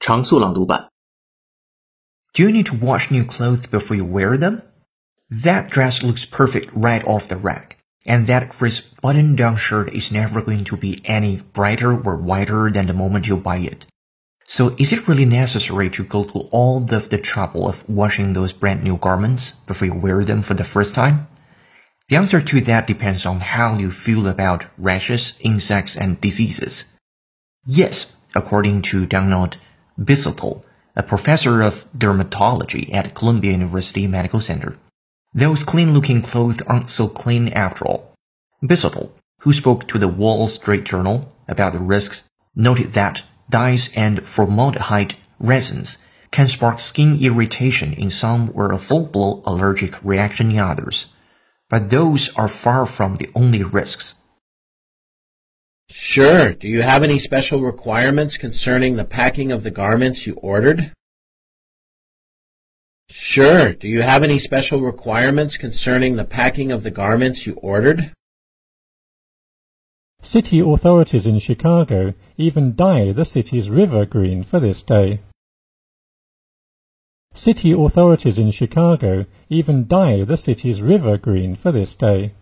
常速朗读版。 Do you need to wash new clothes before you wear them? That dress looks perfect right off the rack, and that crisp button-down shirt is never going to be any brighter or whiter than the moment you buy it. So is it really necessary to go through all of the trouble of washing those brand new garments before you wear them for the first time? The answer to that depends on how you feel about rashes, insects, and diseases. Yes, according to Donald Bissell, a professor of dermatology at Columbia University Medical Center, those clean-looking clothes aren't so clean after all. Bissell, who spoke to the Wall Street Journal about the risks, noted that dyes and formaldehyde resins can spark skin irritation in some or a full-blown allergic reaction in others. But those are far from the only risks. Sure. Do you have any special requirements concerning the packing of the garments you ordered? Sure. Do you have any special requirements concerning the packing of the garments you ordered? City authorities in Chicago even dye the city's river green for this day. City authorities in Chicago even dye the city's river green for this day.